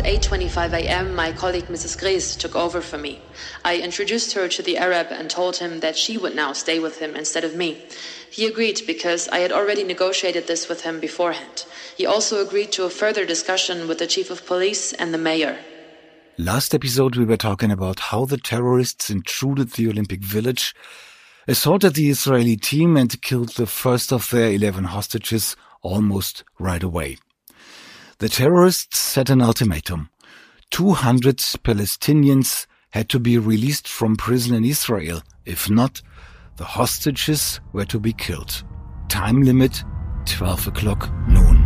8:25 a.m., my colleague Mrs. Gries took over for me. I introduced her to the Arab and told him that she would now stay with him instead of me. He agreed because I had already negotiated this with him beforehand. He also agreed to a further discussion with the chief of police and the mayor. Last episode we were talking about how the terrorists intruded the Olympic Village, assaulted the Israeli team and killed the first of their 11 hostages almost right away. The terrorists set an ultimatum. 200 Palestinians had to be released from prison in Israel. If not, the hostages were to be killed. Time limit, 12 o'clock noon.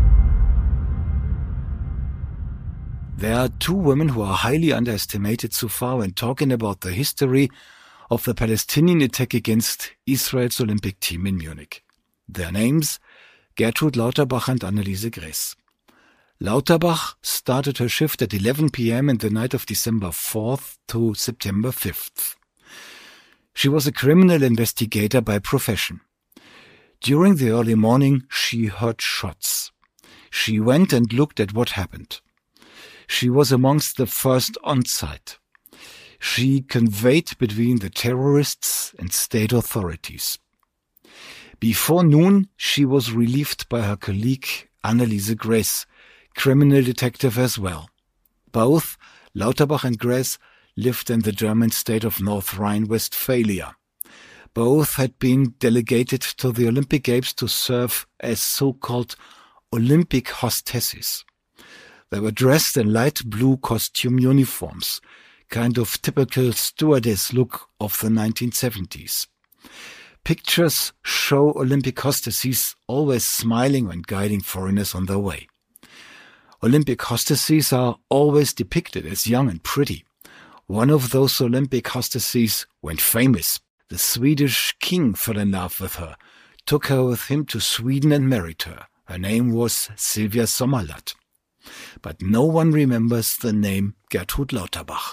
There are two women who are highly underestimated so far when talking about the history of the Palestinian attack against Israel's Olympic team in Munich. Their names, Gertrud Lauterbach and Anneliese Gress. Lauterbach started her shift at 11 p.m. in the night of December 4th to September 5th. She was a criminal investigator by profession. During the early morning, she heard shots. She went and looked at what happened. She was amongst the first on site. She conveyed between the terrorists and state authorities. Before noon, she was relieved by her colleague Anneliese Gress, criminal detective as well. Both Lauterbach and Gress lived in the German state of North Rhine-Westphalia. Both had been delegated to the Olympic Games to serve as so-called Olympic hostesses. They were dressed in light blue costume uniforms, kind of typical stewardess look of the 1970s. Pictures show Olympic hostesses always smiling when guiding foreigners on their way. Olympic hostesses are always depicted as young and pretty. One of those Olympic hostesses went famous. The Swedish king fell in love with her, took her with him to Sweden and married her. Her name was Silvia Sommerlath. But no one remembers the name Gertrud Lauterbach.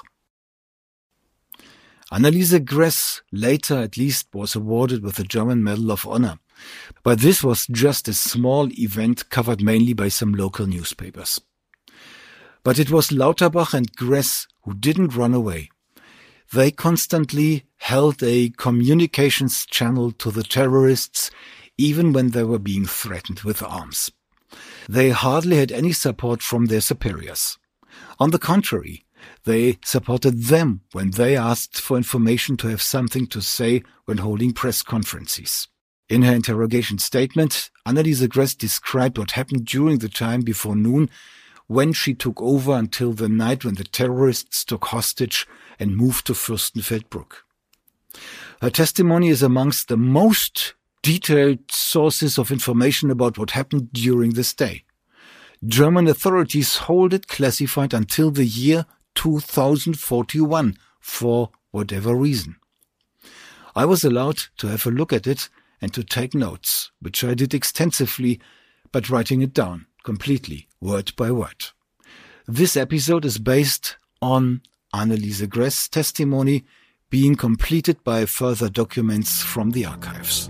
Anneliese Gress later at least was awarded with the German Medal of Honor. But this was just a small event covered mainly by some local newspapers. But it was Lauterbach and Gress who didn't run away. They constantly held a communications channel to the terrorists, even when they were being threatened with arms. They hardly had any support from their superiors. On the contrary, they supported them when they asked for information to have something to say when holding press conferences. In her interrogation statement, Anneliese Gress described what happened during the time before noon when she took over until the night when the terrorists took hostage and moved to Fürstenfeldbruck. Her testimony is amongst the most detailed sources of information about what happened during this day. German authorities hold it classified until the year 2041 for whatever reason. I was allowed to have a look at it and to take notes, which I did extensively, but writing it down completely, word by word. This episode is based on Anneliese Gress' testimony being completed by further documents from the archives.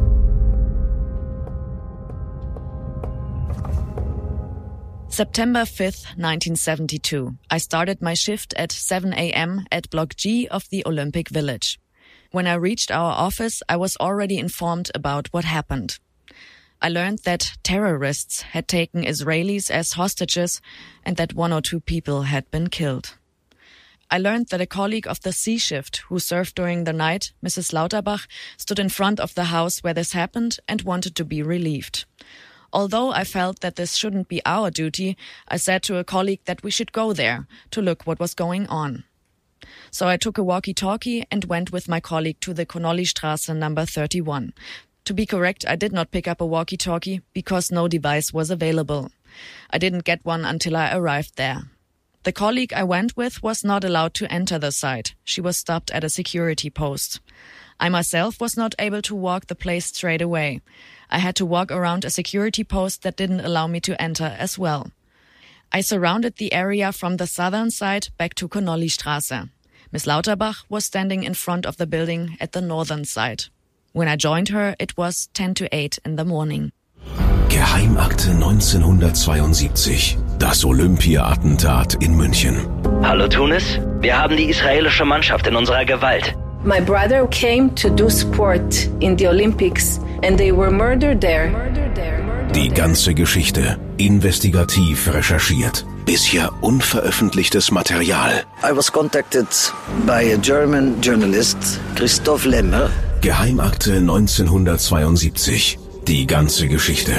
September 5th, 1972. I started my shift at 7 a.m. at Block G of the Olympic Village. When I reached our office, I was already informed about what happened. I learned that terrorists had taken Israelis as hostages and that 1 or 2 people had been killed. I learned that a colleague of the C shift who served during the night, Mrs. Lauterbach, stood in front of the house where this happened and wanted to be relieved. Although I felt that this shouldn't be our duty, I said to a colleague that we should go there to look what was going on. So I took a walkie-talkie and went with my colleague to the Connollystraße number 31. To be correct, I did not pick up a walkie-talkie because no device was available. I didn't get one until I arrived there. The colleague I went with was not allowed to enter the site. She was stopped at a security post. I myself was not able to walk the place straight away. I had to walk around a security post that didn't allow me to enter as well. I surrounded the area from the southern side back to Connollystraße. Miss Lauterbach was standing in front of the building at the northern side. When I joined her, it was 10 to 8 in the morning. Geheimakte 1972. Das Olympia-Attentat in München. Hallo Tunis, wir haben die israelische Mannschaft in unserer Gewalt. My brother came to do sport in the Olympics and they were murdered there. Die ganze Geschichte investigativ recherchiert. Bisher unveröffentlichtes Material. I was contacted by a German journalist, Christoph Lemmer. Geheimakte 1972. Die ganze Geschichte.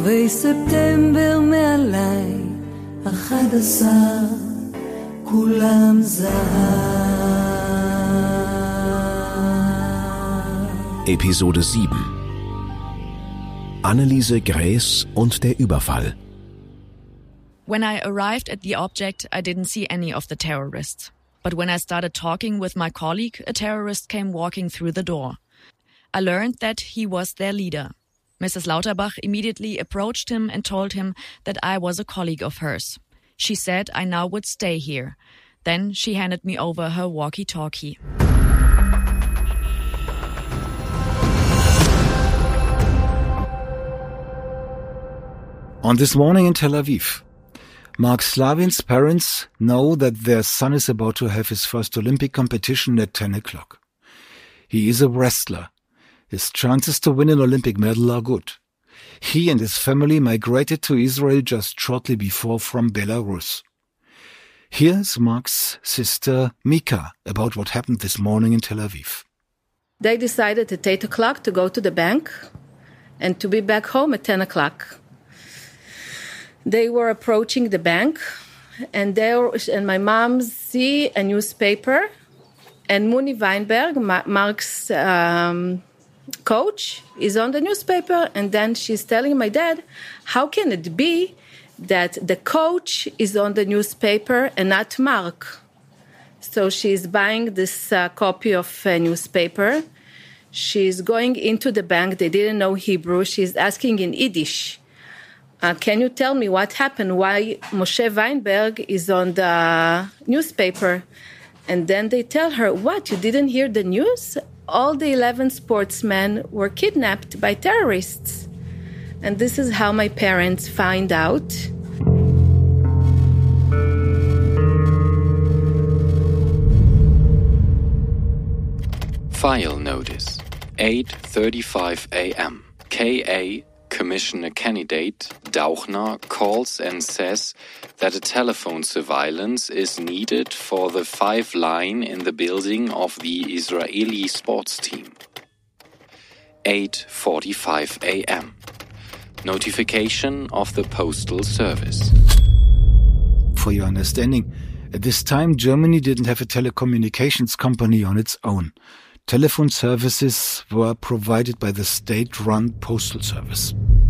Episode 7. Anneliese Graes und der Überfall. When I arrived at the object, I didn't see any of the terrorists. But when I started talking with my colleague, a terrorist came walking through the door. I learned that he was their leader. Mrs. Lauterbach immediately approached him and told him that I was a colleague of hers. She said I now would stay here. Then she handed me over her walkie-talkie. On this morning in Tel Aviv, Mark Slavin's parents know that their son is about to have his first Olympic competition at 10 o'clock. He is a wrestler. His chances to win an Olympic medal are good. He and his family migrated to Israel just shortly before from Belarus. Here's Mark's sister Mika about what happened this morning in Tel Aviv. They decided at 8 o'clock to go to the bank and to be back home at 10 o'clock. They were approaching the bank and my mom see a newspaper and Muni Weinberg, Mark's coach, is on the newspaper, and then she's telling my dad, how can it be that the coach is on the newspaper and not Mark? So she's buying this copy of a newspaper. She's going into the bank. They didn't know Hebrew. She's asking in Yiddish, can you tell me what happened, why Moshe Weinberg is on the newspaper? And then they tell her, what, you didn't hear the news? All the 11 sportsmen were kidnapped by terrorists. And this is how my parents find out. File notice, 8:35 a.m. K.A. Commissioner candidate Dauchner calls and says that a telephone surveillance is needed for the 5 line in the building of the Israeli sports team. 8:45 a.m. Notification of the Postal Service. For your understanding, at this time Germany didn't have a telecommunications company on its own. Telephone services were provided by the state-run postal service.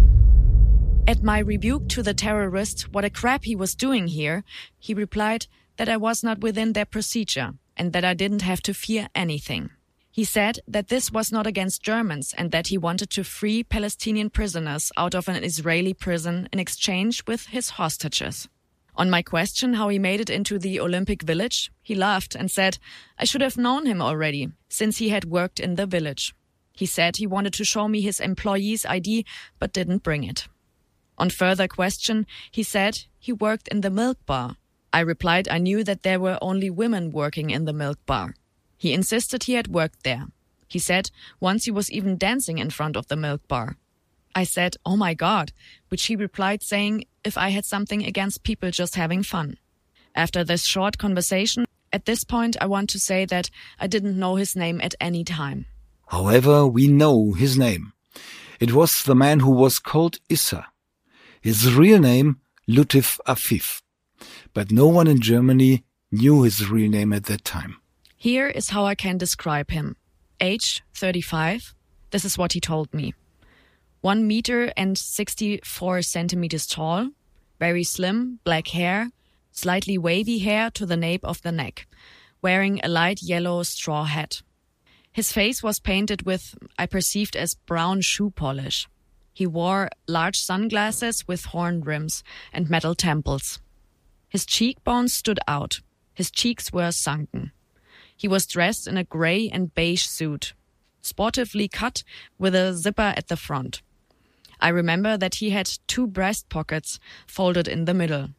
At my rebuke to the terrorist what a crap he was doing here, he replied that I was not within their procedure and that I didn't have to fear anything. He said that this was not against Germans and that he wanted to free Palestinian prisoners out of an Israeli prison in exchange with his hostages. On my question how he made it into the Olympic Village, he laughed and said I should have known him already, since he had worked in the village. He said he wanted to show me his employee's ID, but didn't bring it. On further question, he said he worked in the milk bar. I replied I knew that there were only women working in the milk bar. He insisted he had worked there. He said once he was even dancing in front of the milk bar. I said, oh my God, which he replied saying if I had something against people just having fun. After this short conversation, at this point I want to say that I didn't know his name at any time. However, we know his name. It was the man who was called Issa. His real name, Lutif Afif. But no one in Germany knew his real name at that time. Here is how I can describe him. Age 35. This is what he told me. 1 meter and 64 centimeters tall, very slim, black hair, slightly wavy hair to the nape of the neck, wearing a light yellow straw hat. His face was painted with, I perceived as brown shoe polish. He wore large sunglasses with horn rims and metal temples. His cheekbones stood out. His cheeks were sunken. He was dressed in a grey and beige suit, sportively cut with a zipper at the front. I remember that he had 2 breast pockets folded in the middle.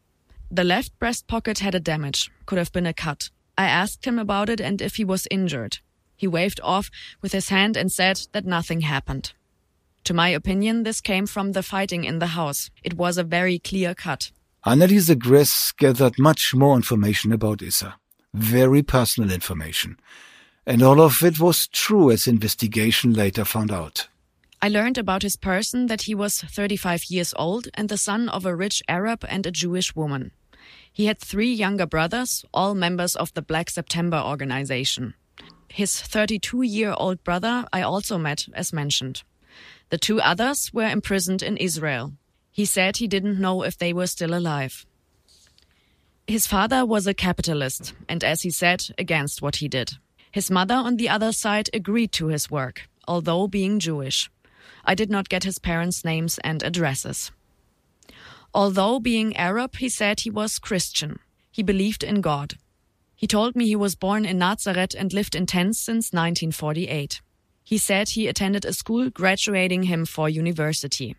The left breast pocket had a damage, could have been a cut. I asked him about it and if he was injured. He waved off with his hand and said that nothing happened. To my opinion, this came from the fighting in the house. It was a very clear cut. Anneliese Gress gathered much more information about Issa. Very personal information. And all of it was true, as investigation later found out. I learned about his person that he was 35 years old and the son of a rich Arab and a Jewish woman. He had 3 younger brothers, all members of the Black September organization. His 32-year-old brother I also met, as mentioned. The 2 others were imprisoned in Israel. He said he didn't know if they were still alive. His father was a capitalist and, as he said, against what he did. His mother, on the other side, agreed to his work, although being Jewish. I did not get his parents' names and addresses. Although being Arab, he said he was Christian. He believed in God. He told me he was born in Nazareth and lived in tents since 1948. He said he attended a school graduating him for university.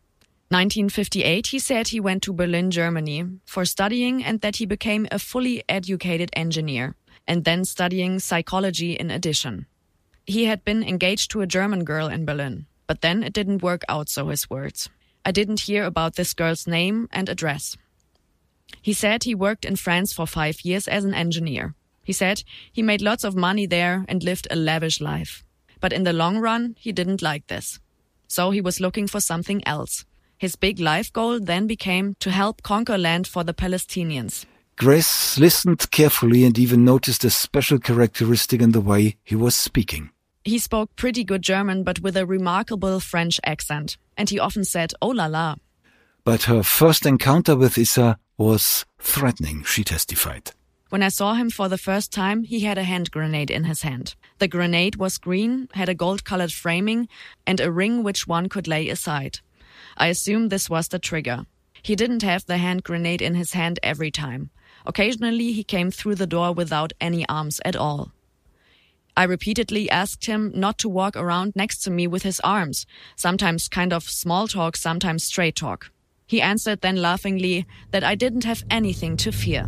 1958, he said he went to Berlin, Germany, for studying and that he became a fully educated engineer, and then studying psychology in addition. He had been engaged to a German girl in Berlin, but then it didn't work out, so his words. I didn't hear about this girl's name and address. He said he worked in France for 5 years as an engineer. He said he made lots of money there and lived a lavish life. But in the long run, he didn't like this. So he was looking for something else. His big life goal then became to help conquer land for the Palestinians. Gress listened carefully and even noticed a special characteristic in the way he was speaking. He spoke pretty good German, but with a remarkable French accent. And he often said, "Oh la la." But her first encounter with Issa was threatening, she testified. When I saw him for the first time, he had a hand grenade in his hand. The grenade was green, had a gold-colored framing, and a ring which one could lay aside. I assumed this was the trigger. He didn't have the hand grenade in his hand every time. Occasionally, he came through the door without any arms at all. I repeatedly asked him not to walk around next to me with his arms, sometimes kind of small talk, sometimes straight talk. He answered then laughingly that I didn't have anything to fear.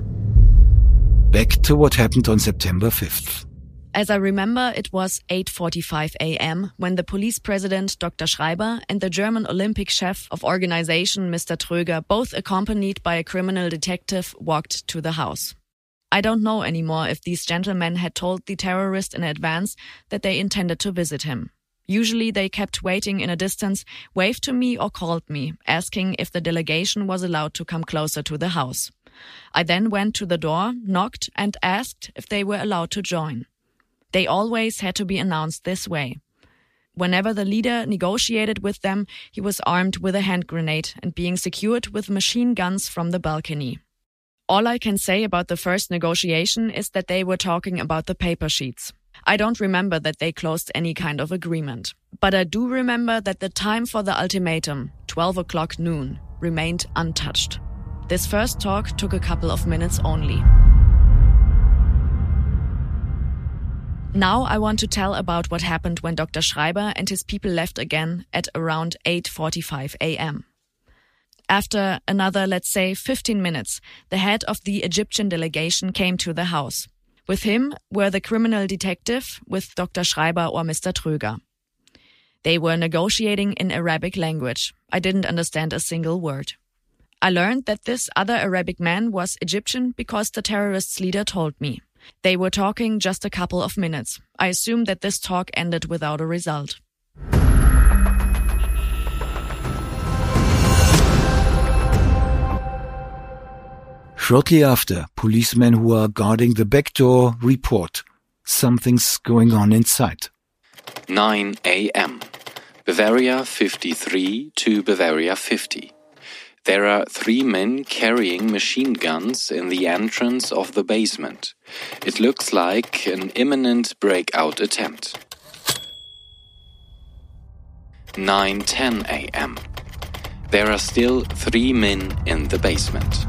Back to what happened on September 5th. As I remember, it was 8:45 a.m. when the police president, Dr. Schreiber, and the German Olympic chef of organization, Mr. Tröger, both accompanied by a criminal detective, walked to the house. I don't know anymore if these gentlemen had told the terrorist in advance that they intended to visit him. Usually they kept waiting in a distance, waved to me or called me, asking if the delegation was allowed to come closer to the house. I then went to the door, knocked, and asked if they were allowed to join. They always had to be announced this way. Whenever the leader negotiated with them, he was armed with a hand grenade and being secured with machine guns from the balcony. All I can say about the first negotiation is that they were talking about the paper sheets. I don't remember that they closed any kind of agreement. But I do remember that the time for the ultimatum, 12 o'clock noon, remained untouched. This first talk took a couple of minutes only. Now I want to tell about what happened when Dr. Schreiber and his people left again at around 8:45 a.m. After another, let's say, 15 minutes, the head of the Egyptian delegation came to the house. With him were the criminal detective with Dr. Schreiber or Mr. Tröger. They were negotiating in Arabic language. I didn't understand a single word. I learned that this other Arabic man was Egyptian because the terrorists' leader told me. They were talking just a couple of minutes. I assumed that this talk ended without a result. Shortly after, policemen who are guarding the back door report something's going on inside. 9 a.m. Bavaria 53 to Bavaria 50. There are 3 men carrying machine guns in the entrance of the basement. It looks like an imminent breakout attempt. 9:10 a.m. There are still 3 men in the basement.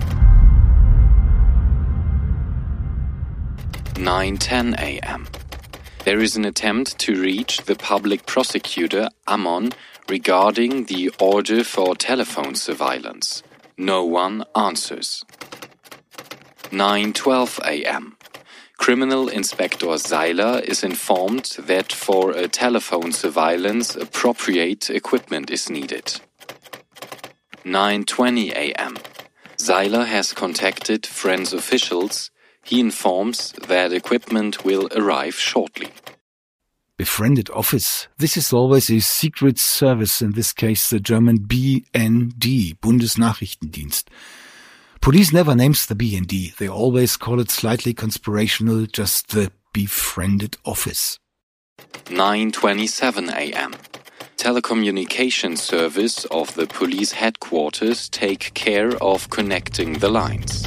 9:10 a.m. There is an attempt to reach the public prosecutor, Ammon, regarding the order for telephone surveillance. No one answers. 9:12 a.m. Criminal Inspector Seiler is informed that for a telephone surveillance, appropriate equipment is needed. 9:20 a.m. Seiler has contacted Friends officials. He informs that equipment will arrive shortly. Befriended office. This is always a secret service, in this case the German BND, Bundesnachrichtendienst. Police never names the BND. They always call it slightly conspirational, just the befriended office. 9:27 a.m. Telecommunication service of the police headquarters take care of connecting the lines.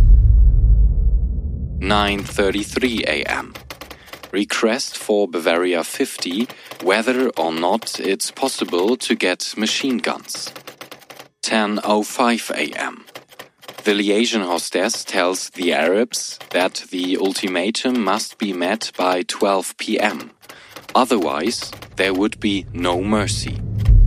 9:33 a.m. Request for Bavaria 50 whether or not it's possible to get machine guns. 10:05 a.m. The liaison hostess tells the Arabs that the ultimatum must be met by 12 p.m. Otherwise, there would be no mercy.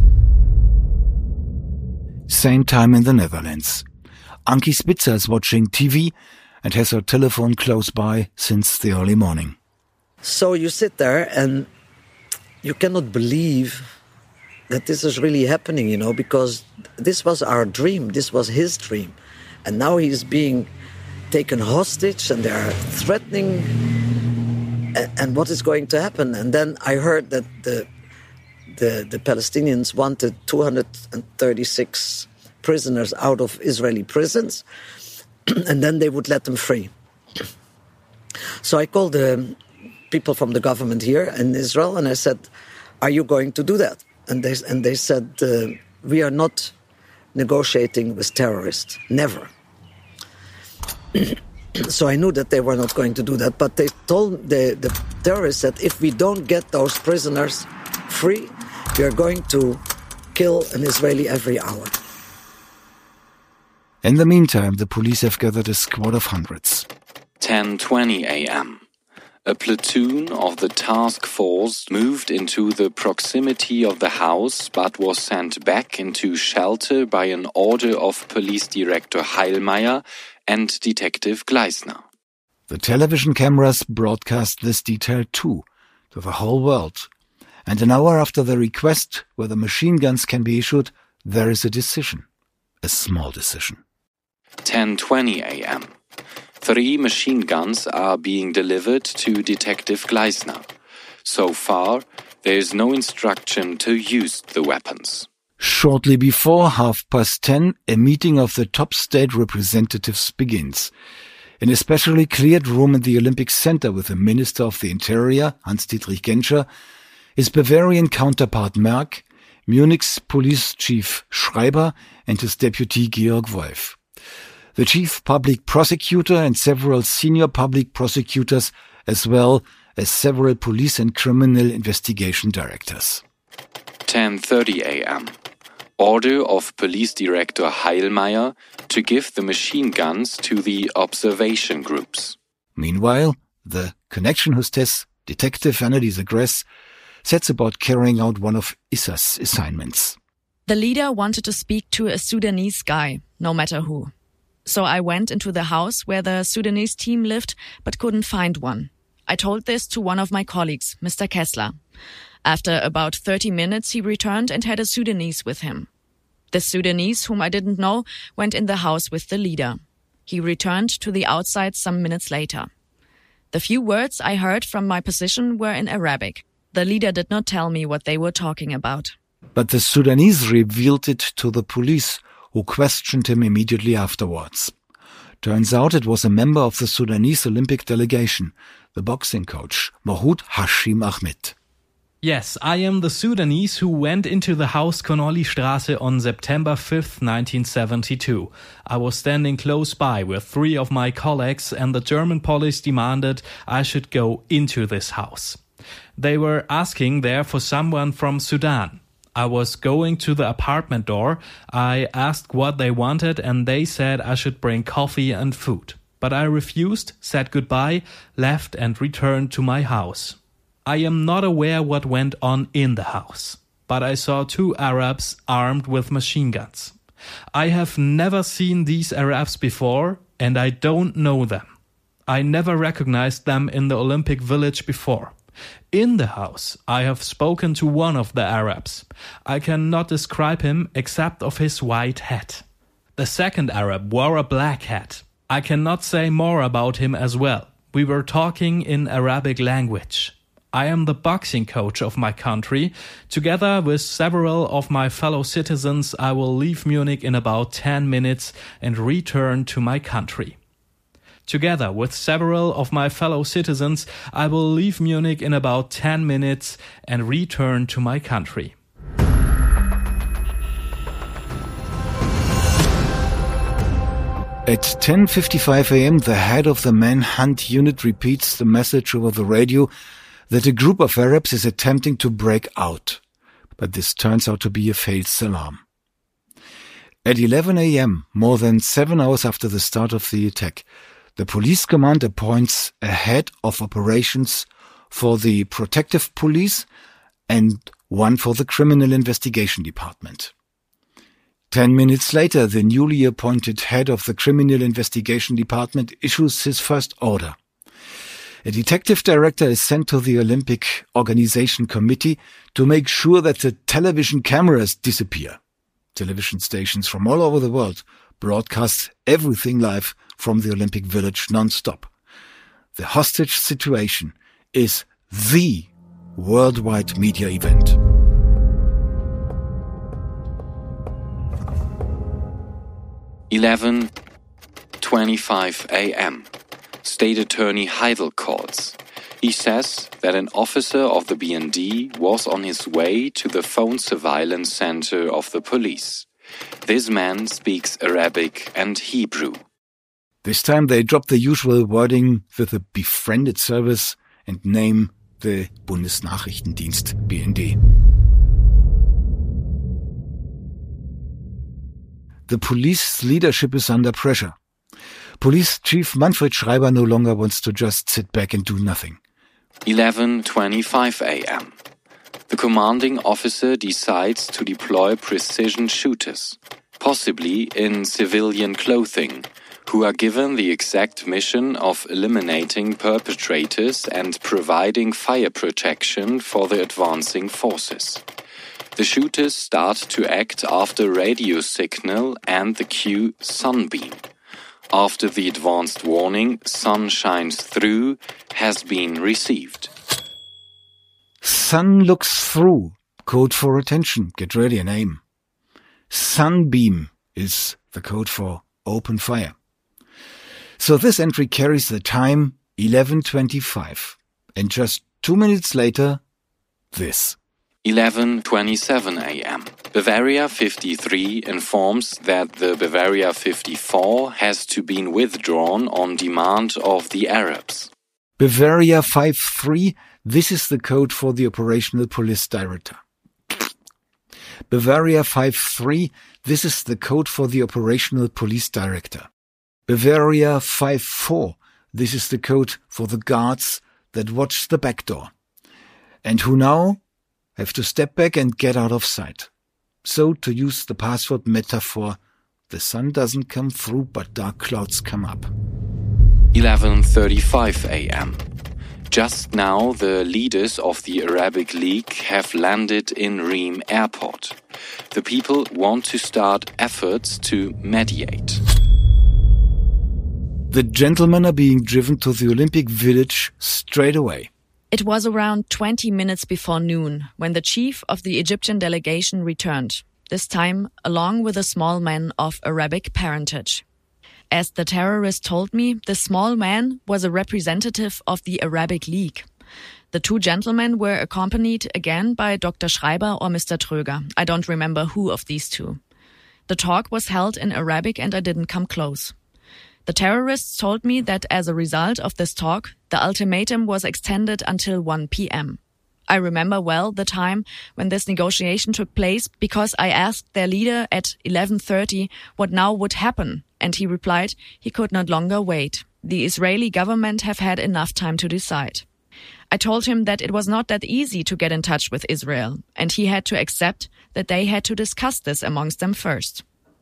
Same time in the Netherlands. Ankie Spitzer is watching TV and has her telephone close by since the early morning. So you sit there and you cannot believe that this is really happening, because this was our dream. This was his dream. And now he's being taken hostage and they are threatening. And what is going to happen? And then I heard that the Palestinians wanted 236 prisoners out of Israeli prisons, and then they would let them free. So I called the people from the government here in Israel, and I said, "Are you going to do that?" And they said, "We are not negotiating with terrorists, never." So I knew that they were not going to do that, but they told the terrorists that if we don't get those prisoners free, we are going to kill an Israeli every hour. In the meantime, the police have gathered a squad of hundreds. 10:20 a.m. A platoon of the task force moved into the proximity of the house but was sent back into shelter by an order of Police Director Heilmeier and Detective Gleisner. The television cameras broadcast this detail too, to the whole world. And an hour after the request whether machine guns can be issued, there is a decision. A small decision. 10:20 a.m. 3 machine guns are being delivered to Detective Gleisner. So far, there is no instruction to use the weapons. Shortly before 10:30, a meeting of the top state representatives begins. In a specially cleared room in the Olympic Center with the Minister of the Interior, Hans-Dietrich Genscher, his Bavarian counterpart Merck, Munich's police chief Schreiber, and his deputy Georg Wolf. The chief public prosecutor and several senior public prosecutors, as well as several police and criminal investigation directors. 10:30 a.m. Order of Police Director Heilmeier to give the machine guns to the observation groups. Meanwhile, the connection hostess, Detective Anneliese Gress, sets about carrying out one of Issa's assignments. The leader wanted to speak to a Sudanese guy, no matter who. So I went into the house where the Sudanese team lived, but couldn't find one. I told this to one of my colleagues, Mr. Kessler. After about 30 minutes, he returned and had a Sudanese with him. The Sudanese, whom I didn't know, went in the house with the leader. He returned to the outside some minutes later. The few words I heard from my position were in Arabic. The leader did not tell me what they were talking about. But the Sudanese revealed it to the police, who questioned him immediately afterwards. Turns out it was a member of the Sudanese Olympic delegation, the boxing coach, Mahoud Hashim Ahmed. Yes, I am the Sudanese who went into the house Connolly-Straße on September 5th, 1972. I was standing close by with 3 of my colleagues and the German police demanded I should go into this house. They were asking there for someone from Sudan. I was going to the apartment door. I asked what they wanted and they said I should bring coffee and food. But I refused, said goodbye, left and returned to my house. I am not aware what went on in the house, but I saw 2 Arabs armed with machine guns. I have never seen these Arabs before. and I don't know them. I never recognized them in the Olympic Village before. In the house, I have spoken to one of the Arabs. I cannot describe him except of his white hat. The second Arab wore a black hat. I cannot say more about him as well. We were talking in Arabic language. I am the boxing coach of my country. Together with several of my fellow citizens, I will leave Munich in about 10 minutes and return to my country. Together with several of my fellow citizens, I will leave Munich in about 10 minutes and return to my country. At 10:55 a.m., the head of the manhunt unit repeats the message over the radio that a group of Arabs is attempting to break out. But this turns out to be a false alarm. At 11 a.m., more than 7 hours after the start of the attack, the police command appoints a head of operations for the protective police and one for the criminal investigation department. 10 minutes later, the newly appointed head of the Criminal Investigation Department issues his first order. A detective director is sent to the Olympic Organization Committee to make sure that the television cameras disappear. Television stations from all over the world broadcast everything live from the Olympic Village non-stop. The hostage situation is the worldwide media event. (11:25 a.m.) State Attorney Heidel calls. He says that an officer of the BND was on his way to the phone surveillance center of the police. This man speaks Arabic and Hebrew. This time they drop the usual wording with a befriended service and name the Bundesnachrichtendienst BND. The police leadership is under pressure. Police Chief Manfred Schreiber no longer wants to just sit back and do nothing. 11:25 a.m. The commanding officer decides to deploy precision shooters, possibly in civilian clothing, who are given the exact mission of eliminating perpetrators and providing fire protection for the advancing forces. The shooters start to act after radio signal and the cue Sunbeam. After the advanced warning "Sun shines through" has been received. Sun looks through. Code for attention. Get ready and aim. Sunbeam is the code for open fire. So this entry carries the time 11:25. And just 2 minutes later, this. 11:27 a.m. Bavaria 53 informs that the Bavaria 54 has to be withdrawn on demand of the Arabs. Bavaria 53, this is the code for the operational police director. Bavaria 53, this is the code for the operational police director. Bavaria 54, this is the code for the guards that watch the back door. And who now have to step back and get out of sight. So, to use the password metaphor, the sun doesn't come through, but dark clouds come up. 11:35 a.m. Just now, the leaders of the Arabic League have landed in Rheims Airport. The people want to start efforts to mediate. The gentlemen are being driven to the Olympic Village straight away. It was around 20 minutes before noon when the chief of the Egyptian delegation returned, this time along with a small man of Arabic parentage. As the terrorist told me, the small man was a representative of the Arabic League. The two gentlemen were accompanied again by Dr. Schreiber or Mr. Tröger. I don't remember who of these two. The talk was held in Arabic and I didn't come close. The terrorists told me that as a result of this talk, the ultimatum was extended until 1 p.m. I remember well the time when this negotiation took place because I asked their leader at 11:30 what now would happen, and he replied he could not longer wait. The Israeli government have had enough time to decide. I told him that it was not that easy to get in touch with Israel, and he had to accept that they had to discuss this amongst them first.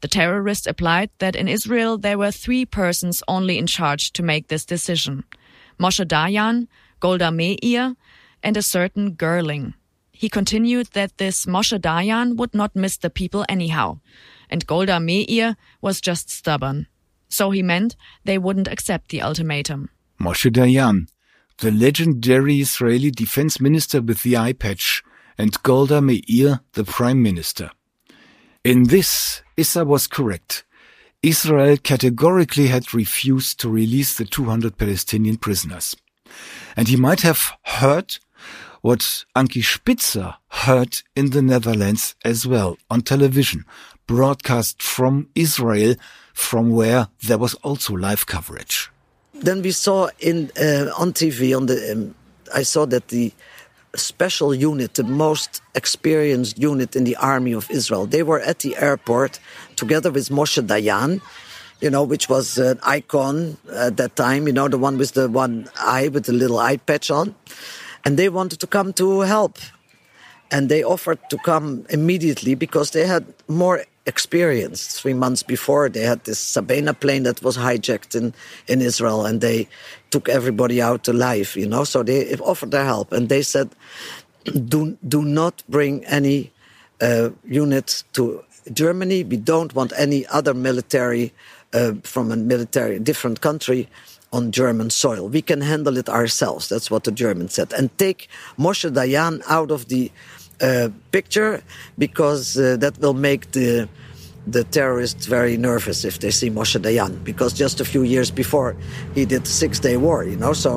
The terrorist applied that in Israel there were 3 persons only in charge to make this decision: Moshe Dayan, Golda Meir, and a certain Gerling. He continued that this Moshe Dayan would not miss the people anyhow, and Golda Meir was just stubborn. So he meant they wouldn't accept the ultimatum. Moshe Dayan, the legendary Israeli defense minister with the eye patch, and Golda Meir, the prime minister. In this, Issa was correct. Israel categorically had refused to release the 200 Palestinian prisoners. And he might have heard what Ankie Spitzer heard in the Netherlands as well, on television, broadcast from Israel, from where there was also live coverage. Then we saw on TV, I saw that the special unit, the most experienced unit in the army of Israel, they were at the airport together with Moshe Dayan, which was an icon at that time, the one with the one eye, with the little eye patch on. And they wanted to come to help. And they offered to come immediately because they had more experience. 3 months before, they had this Sabena plane that was hijacked in Israel, and they took everybody out alive, So they offered their help. And they said, do not bring any units to Germany. We don't want any other military from a different country on German soil. We can handle it ourselves. That's what the Germans said. And take Moshe Dayan out of the picture, because that will make the terrorists very nervous if they see Moshe Dayan, because just a few years before he did the 6-day war, so.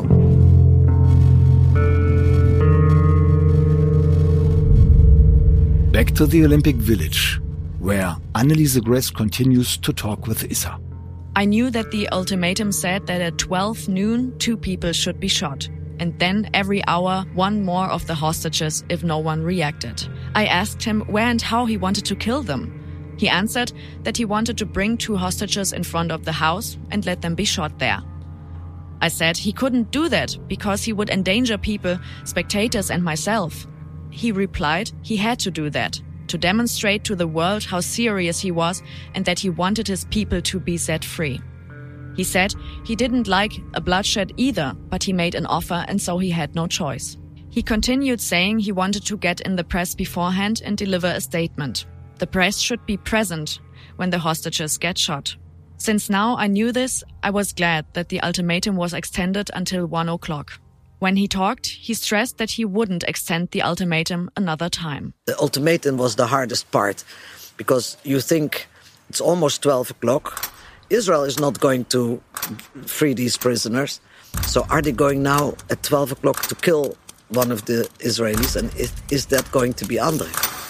Back to the Olympic Village, where Anneliese Gress continues to talk with Issa. I knew that the ultimatum said that at 12 noon, 2 people should be shot. And then every hour, 1 more of the hostages if no one reacted. I asked him where and how he wanted to kill them. He answered that he wanted to bring 2 hostages in front of the house and let them be shot there. I said he couldn't do that because he would endanger people, spectators and myself. He replied he had to do that, to demonstrate to the world how serious he was and that he wanted his people to be set free. He said he didn't like a bloodshed either, but he made an offer and so he had no choice. He continued saying he wanted to get in the press beforehand and deliver a statement. The press should be present when the hostages get shot. Since now I knew this, I was glad that the ultimatum was extended until 1 o'clock. When he talked, he stressed that he wouldn't extend the ultimatum another time. The ultimatum was the hardest part, because you think it's almost 12 o'clock. Israel is not going to free these prisoners. So are they going now at 12 o'clock to kill one of the Israelis? And is that going to be Andrei?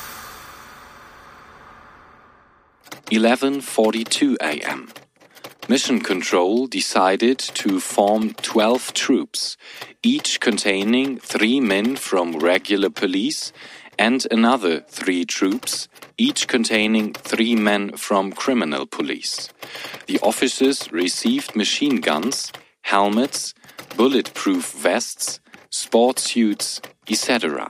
11:42 a.m. Mission Control decided to form 12 troops, each containing 3 men from regular police and another 3 troops, each containing 3 men from criminal police. The officers received machine guns, helmets, bulletproof vests, sport suits, etc.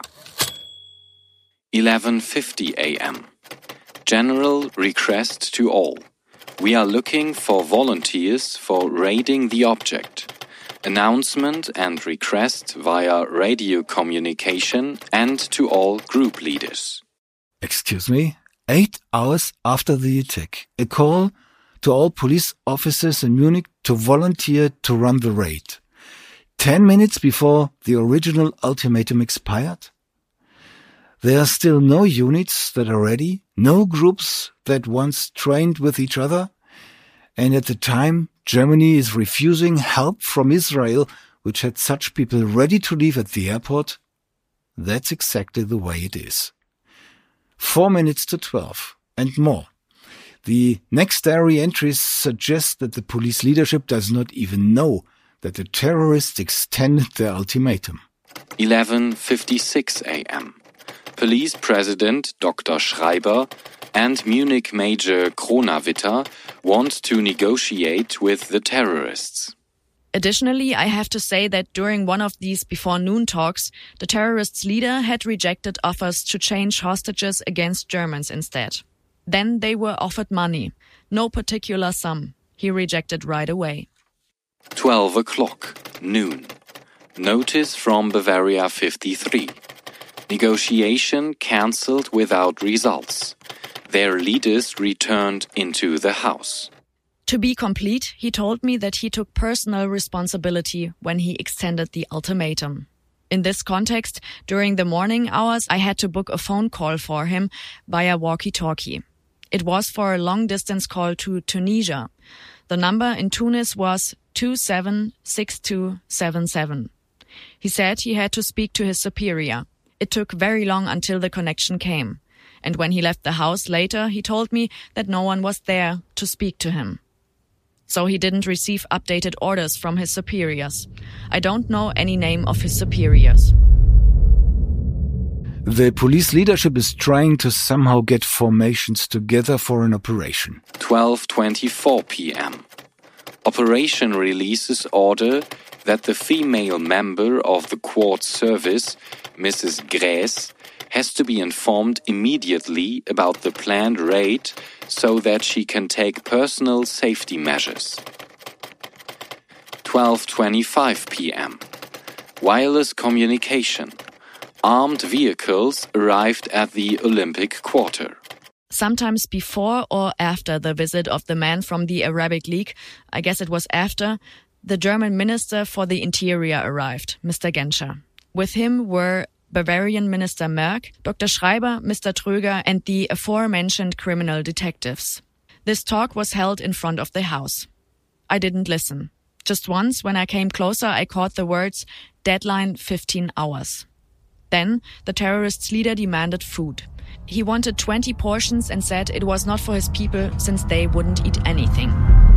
11:50 a.m. General request to all. We are looking for volunteers for raiding the object. Announcement and request via radio communication and to all group leaders. Excuse me? 8 hours after the attack, a call to all police officers in Munich to volunteer to run the raid. 10 minutes before the original ultimatum expired? There are still no units that are ready, no groups that once trained with each other, and at the time Germany is refusing help from Israel, which had such people ready to leave at the airport. That's exactly the way it is. 4 minutes to 12 and more. The next diary entries suggest that the police leadership does not even know that the terrorists extended their ultimatum. 11:56 a.m. Police President Dr. Schreiber and Munich Major Kronawitter want to negotiate with the terrorists. Additionally, I have to say that during one of these before noon talks, the terrorists' leader had rejected offers to change hostages against Germans instead. Then they were offered money. No particular sum. He rejected right away. 12 o'clock, noon. Notice from Bavaria 53. Negotiation cancelled without results. Their leaders returned into the house. To be complete, he told me that he took personal responsibility when he extended the ultimatum. In this context, during the morning hours, I had to book a phone call for him via walkie-talkie. It was for a long-distance call to Tunisia. The number in Tunis was 276277. He said he had to speak to his superior. It took very long until the connection came. And when he left the house later, he told me that no one was there to speak to him. So he didn't receive updated orders from his superiors. I don't know any name of his superiors. The police leadership is trying to somehow get formations together for an operation. 12:24 p.m. Operation releases order that the female member of the court service, Mrs. Grace, has to be informed immediately about the planned raid so that she can take personal safety measures. 12:25 p.m. Wireless communication. Armed vehicles arrived at the Olympic Quarter. Sometimes before or after the visit of the man from the Arabic League, I guess it was after, the German Minister for the Interior arrived, Mr. Genscher. With him were Bavarian Minister Merck, Dr. Schreiber, Mr. Tröger, and the aforementioned criminal detectives. This talk was held in front of the house. I didn't listen. Just once, when I came closer, I caught the words, "Deadline 15 hours." Then, the terrorists' leader demanded food. He wanted 20 portions and said it was not for his people since they wouldn't eat anything.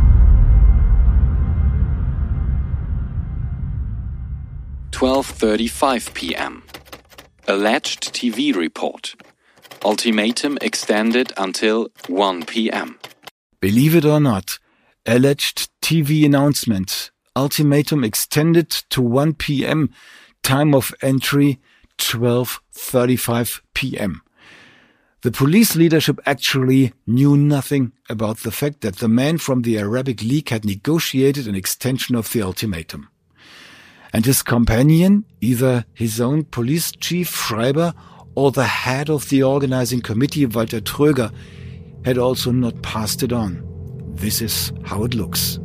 "12:35 p.m. Alleged TV report. Ultimatum extended until 1 p.m. Believe it or not, alleged TV announcement. Ultimatum extended to 1 p.m. Time of entry 12:35 p.m. The police leadership actually knew nothing about the fact that the man from the Arabic League had negotiated an extension of the ultimatum. And his companion, either his own police chief Schreiber or the head of the organizing committee Walter Tröger, had also not passed it on. This is how it looks.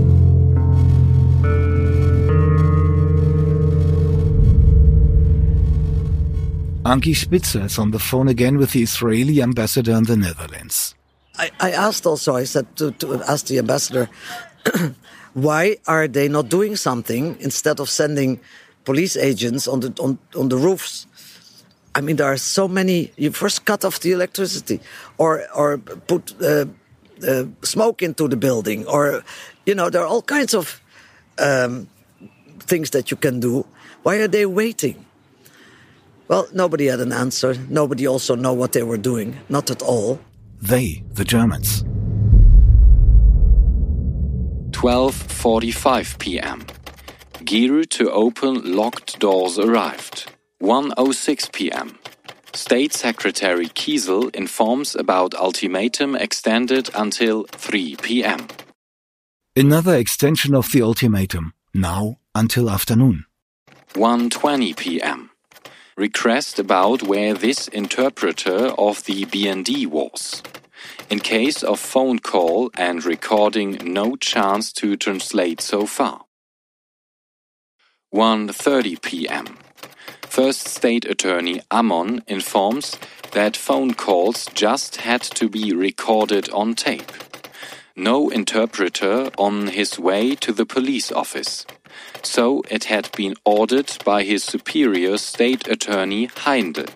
Ankie Spitzer is on the phone again with the Israeli ambassador in the Netherlands. I asked also, I said to ask the ambassador, why are they not doing something instead of sending police agents on the roofs? I mean, there are so many. You first cut off the electricity, or put smoke into the building, or there are all kinds of things that you can do. Why are they waiting? Well, nobody had an answer. Nobody also know what they were doing. Not at all. They, the Germans. 12:45 p.m. Gear to open locked doors arrived. 1:06 p.m. State Secretary Kiesel informs about ultimatum extended until 3 p.m. Another extension of the ultimatum, now until afternoon. 1:20 p.m. Request about where this interpreter of the BND was. In case of phone call and recording, no chance to translate so far. 1:30 p.m. First State Attorney Ammon informs that phone calls just had to be recorded on tape. No interpreter on his way to the police office. So it had been ordered by his superior State Attorney Heinde.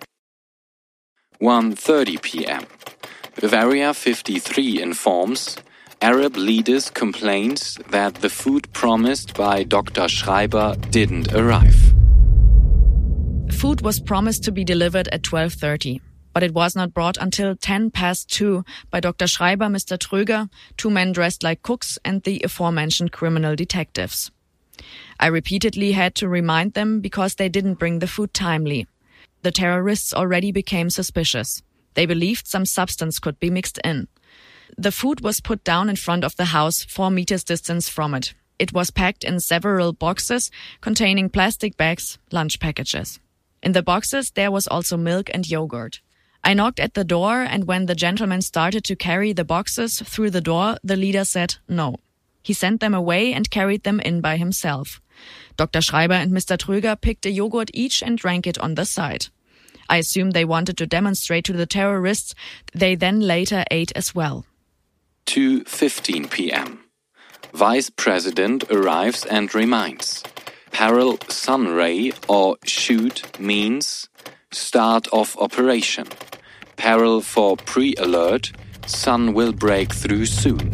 1:30 p.m. Bavaria 53 informs Arab leaders complained that the food promised by Dr. Schreiber didn't arrive. Food was promised to be delivered at 12:30, but it was not brought until 2:10 by Dr. Schreiber, Mr. Tröger, two men dressed like cooks, and the aforementioned criminal detectives. I repeatedly had to remind them because they didn't bring the food timely. The terrorists already became suspicious. They believed some substance could be mixed in. The food was put down in front of the house 4 meters distance from it. It was packed in several boxes containing plastic bags, lunch packages. In the boxes there was also milk and yogurt. I knocked at the door, and when the gentleman started to carry the boxes through the door, the leader said no. He sent them away and carried them in by himself. Dr. Schreiber and Mr. Tröger picked a yogurt each and drank it on the side. I assume they wanted to demonstrate to the terrorists. They then later ate as well. 2:15 p.m. Vice President arrives and reminds. Parallel sun ray or shoot means start of operation. Parallel for pre-alert, sun will break through soon.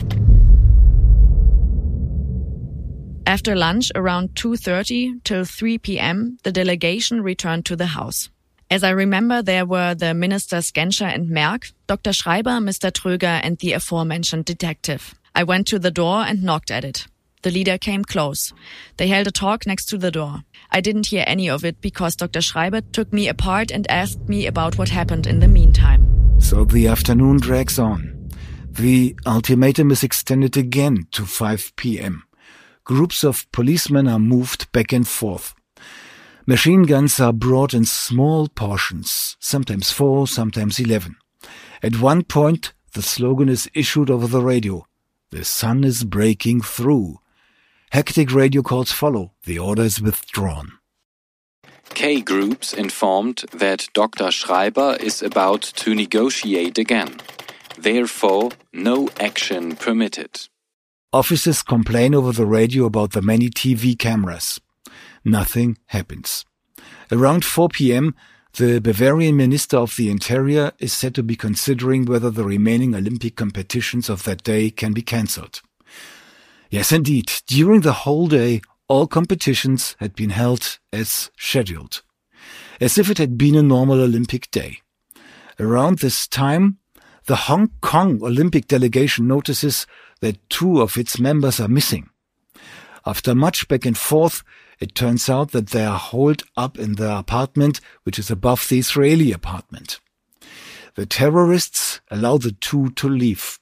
After lunch around 2:30 till 3 p.m., the delegation returned to the house. As I remember, there were the ministers Genscher and Merck, Dr. Schreiber, Mr. Tröger and the aforementioned detective. I went to the door and knocked at it. The leader came close. They held a talk next to the door. I didn't hear any of it because Dr. Schreiber took me apart and asked me about what happened in the meantime. So the afternoon drags on. The ultimatum is extended again to 5 p.m. Groups of policemen are moved back and forth. Machine guns are brought in small portions, sometimes 4, sometimes 11. At one point, the slogan is issued over the radio. The sun is breaking through. Hectic radio calls follow. The order is withdrawn. K groups informed that Dr. Schreiber is about to negotiate again. Therefore, no action permitted. Officers complain over the radio about the many TV cameras. Nothing happens. Around 4 p.m., the Bavarian Minister of the Interior is said to be considering whether the remaining Olympic competitions of that day can be cancelled. Yes, indeed, during the whole day, all competitions had been held as scheduled, as if it had been a normal Olympic day. Around this time, the Hong Kong Olympic delegation notices that 2 of its members are missing. After much back and forth, it turns out that they are holed up in their apartment, which is above the Israeli apartment. The terrorists allow the 2 to leave.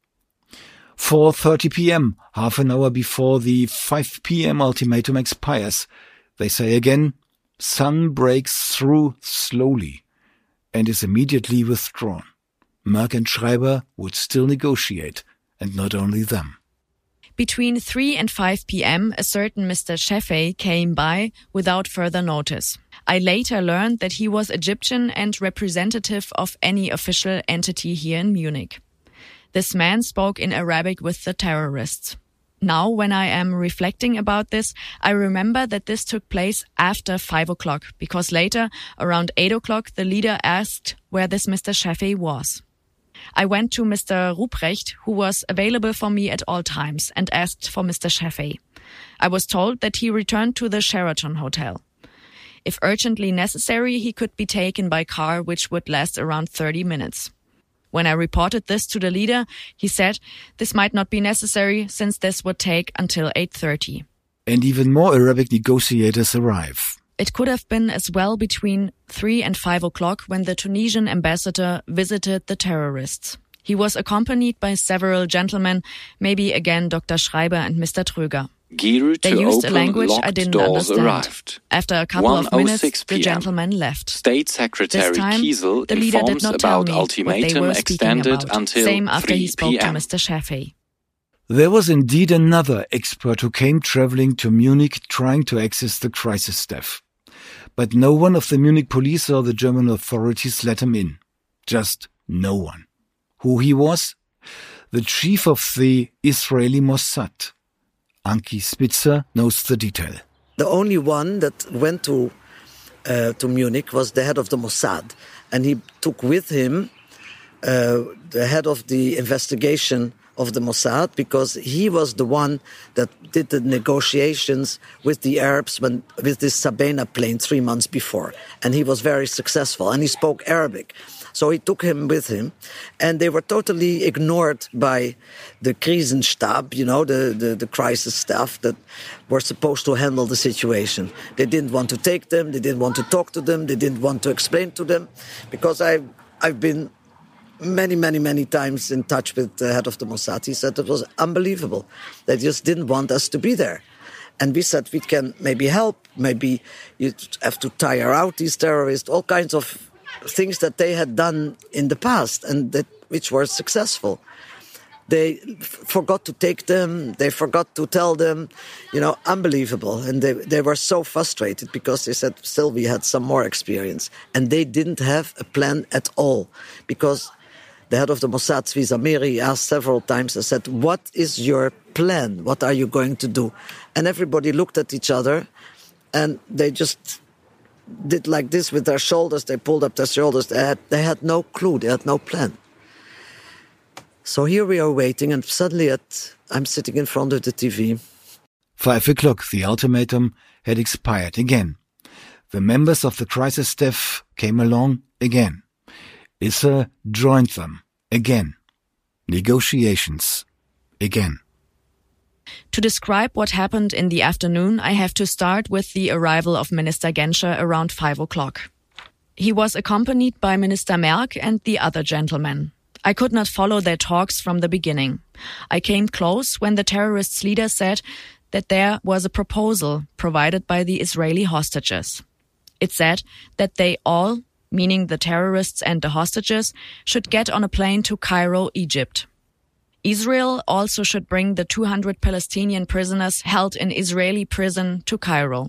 4:30 p.m., half an hour before the 5 p.m. ultimatum expires, they say again, sun breaks through slowly and is immediately withdrawn. Merck and Schreiber would still negotiate, and not only them. Between 3 and 5 p.m., a certain Mr. Shefei came by without further notice. I later learned that he was Egyptian and representative of any official entity here in Munich. This man spoke in Arabic with the terrorists. Now, when I am reflecting about this, I remember that this took place after 5 o'clock, because later, around 8 o'clock, the leader asked where this Mr. Shefei was. I went to Mr. Ruprecht, who was available for me at all times, and asked for Mr. Shefei. I was told that he returned to the Sheraton Hotel. If urgently necessary, he could be taken by car, which would last around 30 minutes. When I reported this to the leader, he said this might not be necessary since this would take until 8:30. And even more Arabic negotiators arrive. It could have been as well between 3 and 5 o'clock when the Tunisian ambassador visited the terrorists. He was accompanied by several gentlemen, maybe again Dr. Schreiber and Mr. Tröger. They used a language I didn't understand. Arrived. After a couple of minutes, the gentleman left. State Secretary this time, Kiesel the leader did informs not tell about me ultimatum what they were extended about. until Same after 3 he spoke p.m. to Mr. Shefei. There was indeed another expert who came traveling to Munich trying to access the crisis staff. But no one of the Munich police or the German authorities let him in. Just no one. Who he was? The chief of the Israeli Mossad. Anki Spitzer knows the detail. The only one that went to Munich was the head of the Mossad. And he took with him the head of the investigation of the Mossad, because he was the one that did the negotiations with the Arabs with this Sabena plane 3 months before. And he was very successful, and he spoke Arabic. So he took him with him, and they were totally ignored by the Krisenstab, the crisis staff that were supposed to handle the situation. They didn't want to take them, they didn't want to talk to them, they didn't want to explain to them, because I've been many times in touch with the head of the Mossad. He said it was unbelievable. They just didn't want us to be there. And we said we can maybe help. Maybe you have to tire out these terrorists, all kinds of things that they had done in the past and which were successful. They forgot to take them. They forgot to tell them, unbelievable. And they were so frustrated because they said, still, we had some more experience. And they didn't have a plan at all. Because the head of the Mossad, Zvi Zamiri, asked several times and said, what is your plan? What are you going to do? And everybody looked at each other and they just did like this with their shoulders. They pulled up their shoulders. They had no clue. They had no plan. So here we are waiting, and suddenly I'm sitting in front of the TV. 5 o'clock, the ultimatum had expired again. The members of the crisis staff came along again. Issa joined them again. Negotiations again. To describe what happened in the afternoon, I have to start with the arrival of Minister Genscher around 5 o'clock. He was accompanied by Minister Merk and the other gentlemen. I could not follow their talks from the beginning. I came close when the terrorists' leader said that there was a proposal provided by the Israeli hostages. It said that they all, meaning the terrorists and the hostages, should get on a plane to Cairo, Egypt. Israel also should bring the 200 Palestinian prisoners held in Israeli prison to Cairo.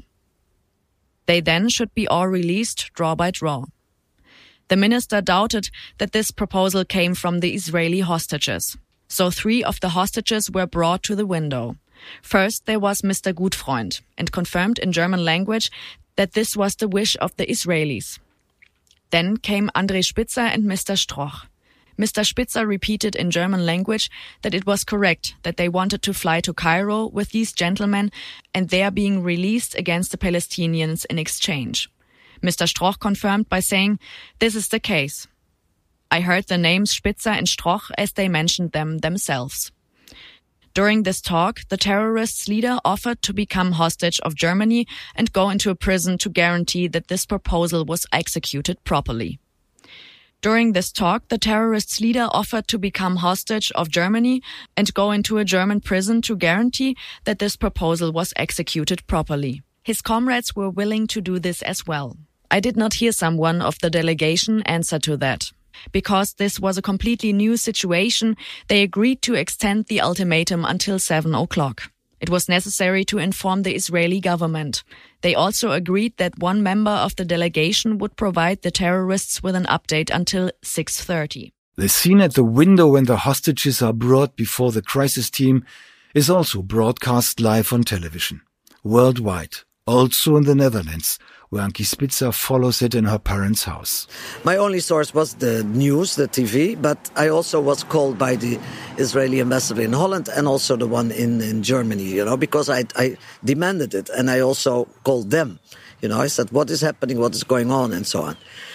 They then should be all released draw by draw. The minister doubted that this proposal came from the Israeli hostages. So 3 of the hostages were brought to the window. First, there was Mr. Gutfreund, and confirmed in German language that this was the wish of the Israelis. Then came André Spitzer and Mr. Stroch. Mr. Spitzer repeated in German language that it was correct that they wanted to fly to Cairo with these gentlemen and there being released against the Palestinians in exchange. Mr. Stroch confirmed by saying, this is the case. I heard the names Spitzer and Stroch as they mentioned them themselves. During this talk, the terrorists' leader offered to become hostage of Germany and go into a prison to guarantee that this proposal was executed properly. During this talk, the terrorists' leader offered to become hostage of Germany and go into a German prison to guarantee that this proposal was executed properly. His comrades were willing to do this as well. I did not hear someone of the delegation answer to that. Because this was a completely new situation, they agreed to extend the ultimatum until 7 o'clock. It was necessary to inform the Israeli government. They also agreed that one member of the delegation would provide the terrorists with an update until 6:30. The scene at the window when the hostages are brought before the crisis team is also broadcast live on television, worldwide, also in the Netherlands, where Ankie Spitzer follows it in her parents' house. My only source was the news, the TV, but I also was called by the Israeli ambassador in Holland and also the one in Germany, because I demanded it. And I also called them, I said, what is happening, what is going on, and so on.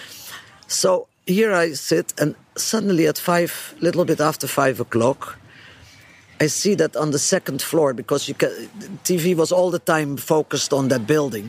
So here I sit, and suddenly at little bit after 5 o'clock, I see that on the second floor, because TV was all the time focused on that building.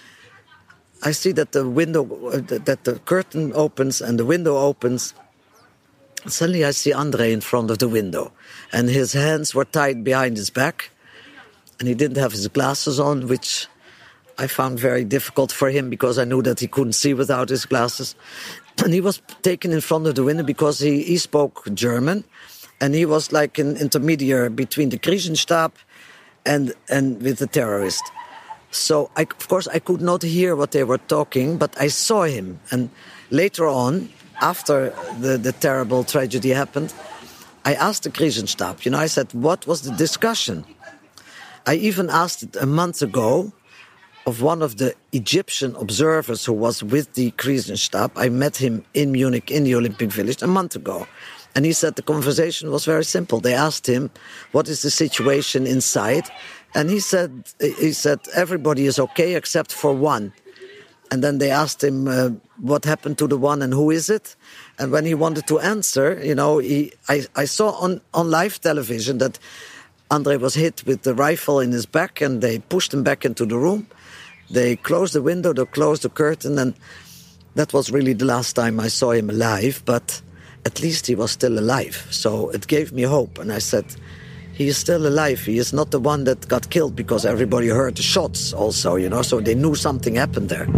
I see that the curtain opens and the window opens. Suddenly I see André in front of the window, and his hands were tied behind his back, and he didn't have his glasses on, which I found very difficult for him because I knew that he couldn't see without his glasses. And he was taken in front of the window because he spoke German, and he was like an intermediary between the Krisenstab and with the terrorist. So, of course, I could not hear what they were talking, but I saw him. And later on, after the terrible tragedy happened, I asked the Krisenstab, I said, what was the discussion? I even asked it a month ago of one of the Egyptian observers who was with the Krisenstab. I met him in Munich, in the Olympic Village, a month ago. And he said the conversation was very simple. They asked him, what is the situation inside? And he said everybody is okay except for one. And then they asked him what happened to the one and who is it? And when he wanted to answer, I saw on live television that André was hit with the rifle in his back, and they pushed him back into the room. They closed the window, they closed the curtain, and that was really the last time I saw him alive. But at least he was still alive. So it gave me hope. And I said, he is still alive. He is not the one that got killed, because everybody heard the shots also, you know, so they knew something happened there.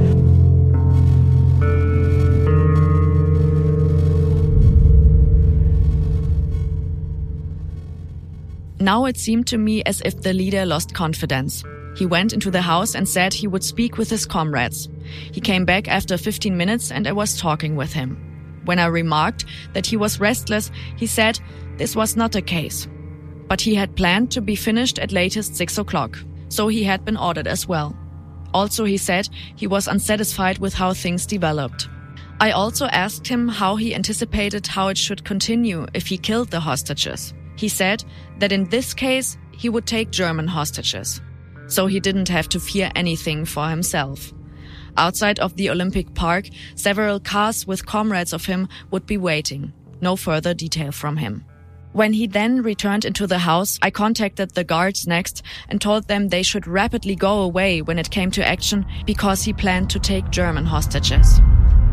Now it seemed to me as if the leader lost confidence. He went into the house and said he would speak with his comrades. He came back after 15 minutes and I was talking with him. When I remarked that he was restless, he said this was not the case. But he had planned to be finished at latest 6 o'clock, so he had been ordered as well. Also, he said he was unsatisfied with how things developed. I also asked him how he anticipated how it should continue if he killed the hostages. He said that in this case, he would take German hostages. So he didn't have to fear anything for himself. Outside of the Olympic Park, several cars with comrades of him would be waiting. No further detail from him. When he then returned into the house, I contacted the guards next and told them they should rapidly go away when it came to action, because he planned to take German hostages.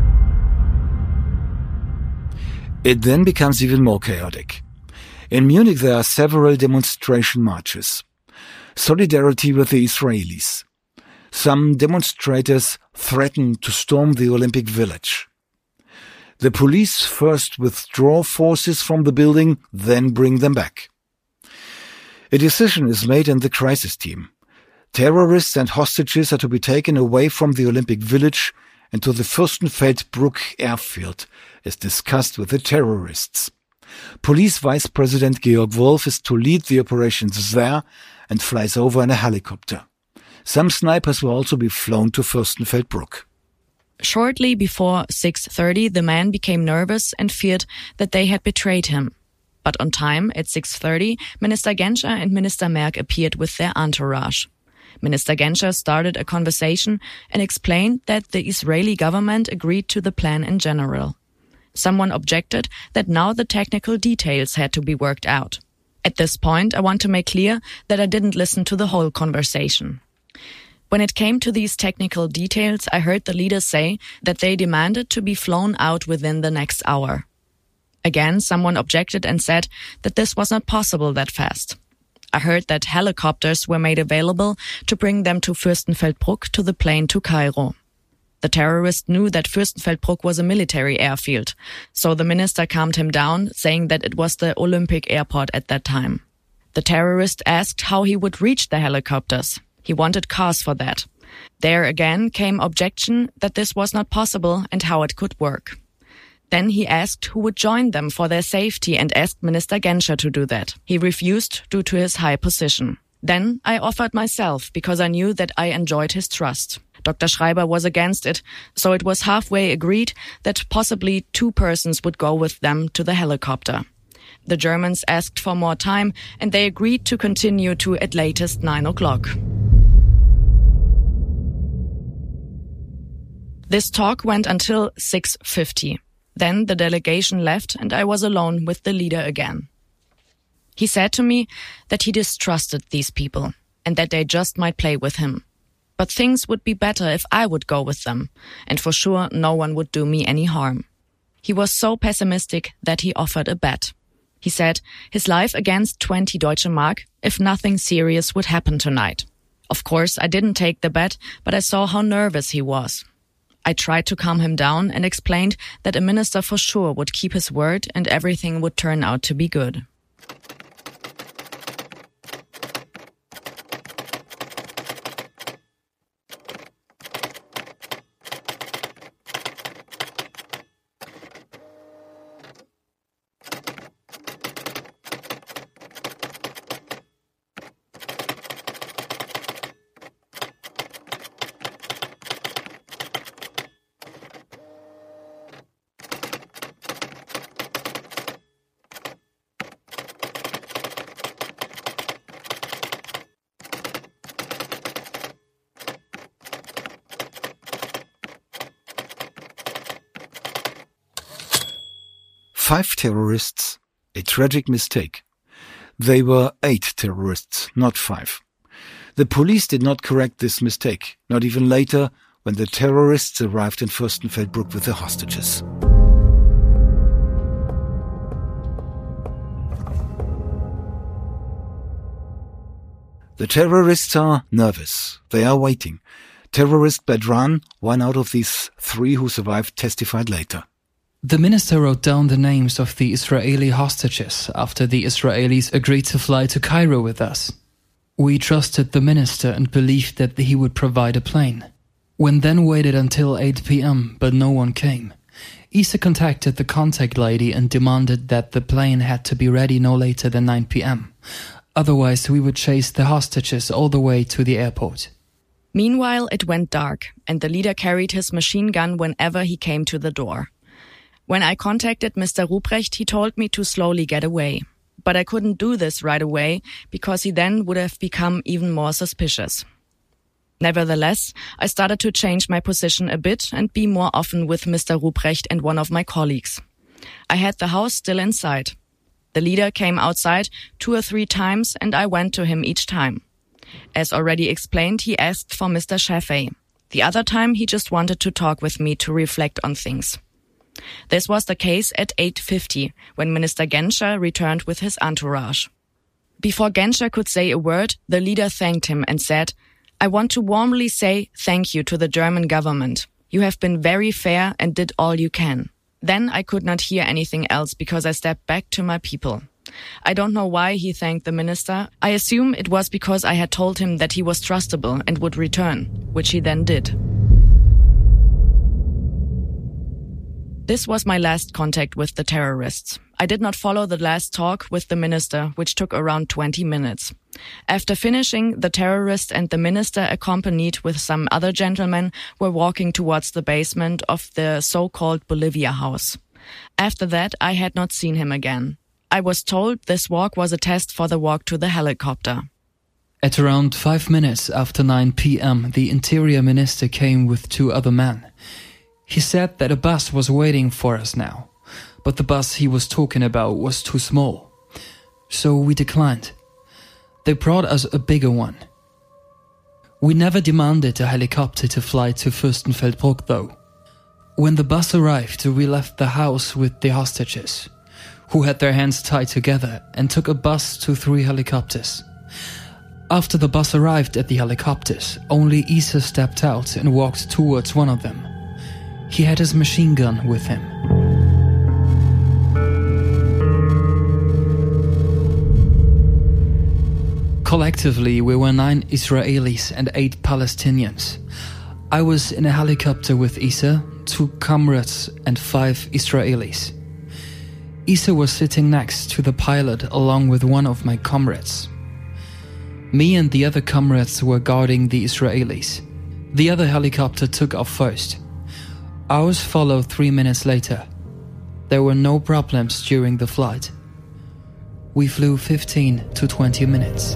It then becomes even more chaotic. In Munich, there are several demonstration marches. Solidarity with the Israelis. Some demonstrators threaten to storm the Olympic Village. The police first withdraw forces from the building, then bring them back. A decision is made in the crisis team. Terrorists and hostages are to be taken away from the Olympic Village and to the Fürstenfeldbruck airfield, as discussed with the terrorists. Police Vice President Georg Wolf is to lead the operations there and flies over in a helicopter. Some snipers will also be flown to Fürstenfeldbruck. Shortly before 6:30, the man became nervous and feared that they had betrayed him. But on time, at 6:30, Minister Genscher and Minister Merk appeared with their entourage. Minister Genscher started a conversation and explained that the Israeli government agreed to the plan in general. Someone objected that now the technical details had to be worked out. At this point, I want to make clear that I didn't listen to the whole conversation. When it came to these technical details, I heard the leaders say that they demanded to be flown out within the next hour. Again, someone objected and said that this was not possible that fast. I heard that helicopters were made available to bring them to Fürstenfeldbruck to the plane to Cairo. The terrorist knew that Fürstenfeldbruck was a military airfield, so the minister calmed him down, saying that it was the Olympic airport at that time. The terrorist asked how he would reach the helicopters. He wanted cars for that. There again came objection that this was not possible and how it could work. Then he asked who would join them for their safety and asked Minister Genscher to do that. He refused due to his high position. Then I offered myself because I knew that I enjoyed his trust. Dr. Schreiber was against it, so it was halfway agreed that possibly 2 persons would go with them to the helicopter. The Germans asked for more time and they agreed to continue to at latest 9 o'clock. This talk went until 6:50. Then the delegation left and I was alone with the leader again. He said to me that he distrusted these people and that they just might play with him. But things would be better if I would go with them, and for sure no one would do me any harm. He was so pessimistic that he offered a bet. He said his life against 20 Deutsche Mark if nothing serious would happen tonight. Of course, I didn't take the bet, but I saw how nervous he was. I tried to calm him down and explained that a minister for sure would keep his word and everything would turn out to be good. Five terrorists, a tragic mistake. They were 8 terrorists, not 5. The police did not correct this mistake, not even later when the terrorists arrived in Fürstenfeldbruck with the hostages. The terrorists are nervous. They are waiting. Terrorist Bedran, one out of these 3 who survived, testified later. The minister wrote down the names of the Israeli hostages after the Israelis agreed to fly to Cairo with us. We trusted the minister and believed that he would provide a plane. When then waited until 8 p.m., but no one came. Isa contacted the contact lady and demanded that the plane had to be ready no later than 9 p.m. Otherwise, we would chase the hostages all the way to the airport. Meanwhile, it went dark, and the leader carried his machine gun whenever he came to the door. When I contacted Mr. Ruprecht, he told me to slowly get away. But I couldn't do this right away, because he then would have become even more suspicious. Nevertheless, I started to change my position a bit and be more often with Mr. Ruprecht and one of my colleagues. I had the house still inside. The leader came outside 2 or 3 times and I went to him each time. As already explained, he asked for Mr. Shafei. The other time, he just wanted to talk with me to reflect on things. This was the case at 8:50, when Minister Genscher returned with his entourage. Before Genscher could say a word, the leader thanked him and said, "I want to warmly say thank you to the German government. You have been very fair and did all you can." Then I could not hear anything else because I stepped back to my people. I don't know why he thanked the minister. I assume it was because I had told him that he was trustable and would return, which he then did. This was my last contact with the terrorists. I did not follow the last talk with the minister, which took around 20 minutes. After finishing, the terrorist and the minister, accompanied with some other gentlemen, were walking towards the basement of the so-called Bolivia house. After that, I had not seen him again. I was told this walk was a test for the walk to the helicopter. At around 5 minutes after 9 p.m., the interior minister came with 2 other men. He said that a bus was waiting for us now, but the bus he was talking about was too small. So we declined. They brought us a bigger one. We never demanded a helicopter to fly to Fürstenfeldbruck though. When the bus arrived, we left the house with the hostages, who had their hands tied together, and took a bus to 3 helicopters. After the bus arrived at the helicopters, only Isa stepped out and walked towards one of them. He had his machine gun with him. Collectively, we were 9 Israelis and 8 Palestinians. I was in a helicopter with Isa, 2 comrades and 5 Israelis. Isa was sitting next to the pilot along with one of my comrades. Me and the other comrades were guarding the Israelis. The other helicopter took off first. Ours followed 3 minutes later. There were no problems during the flight. We flew 15 to 20 minutes.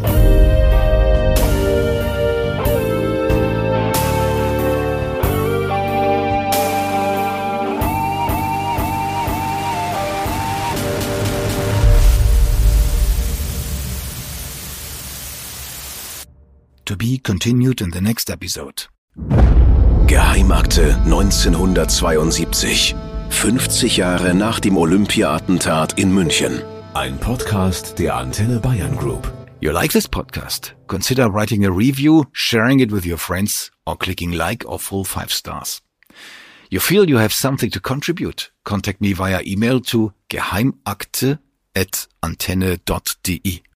To be continued in the next episode. Geheimakte 1972. 50 Jahre nach dem Olympia-Attentat in München. Ein Podcast der Antenne Bayern Group. You like this podcast? Consider writing a review, sharing it with your friends, or clicking like or full 5 stars. You feel you have something to contribute? Contact me via email to geheimakte@antenne.de.